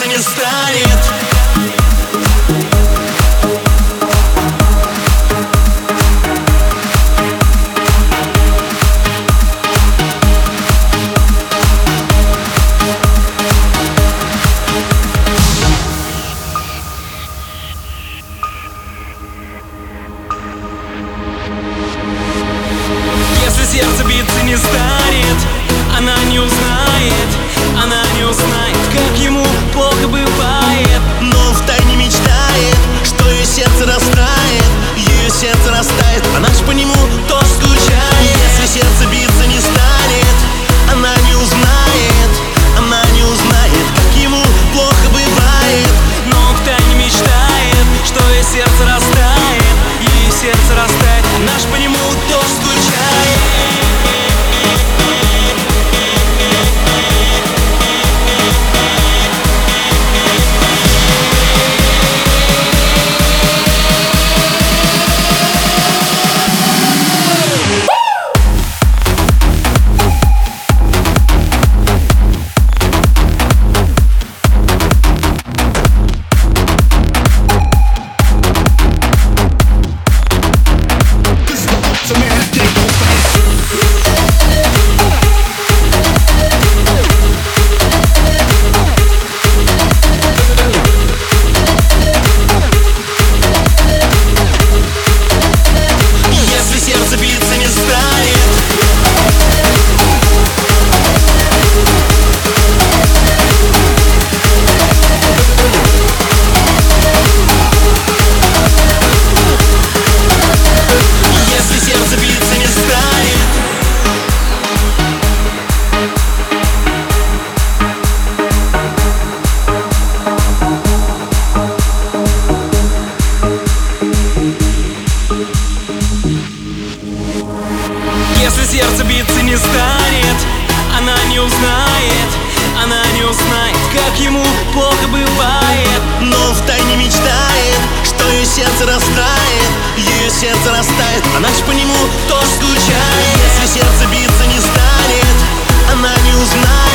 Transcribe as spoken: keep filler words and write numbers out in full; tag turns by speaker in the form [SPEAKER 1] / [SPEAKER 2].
[SPEAKER 1] не станет.
[SPEAKER 2] Если сердце биться не станет, она не узнает, она не узнает, как ему плохо бывает.
[SPEAKER 1] Но он втайне мечтает, что ее сердце растает, ее сердце растает, она ж по нему тоже скучает. Если сердце биться не станет, она не узнает, она не узнает, как ему плохо бывает.
[SPEAKER 2] Но он втайне мечтает, что ее сердце растает, ее сердце растает, она ж по нему тоже скучает. Если сердце биться не станет, она не узнает, она не узнает, как ему плохо бывает.
[SPEAKER 1] Но он втайне мечтает, что ее сердце растает, ее сердце растает, она ж по нему тоже скучает. Если сердце биться не станет, она не узнает.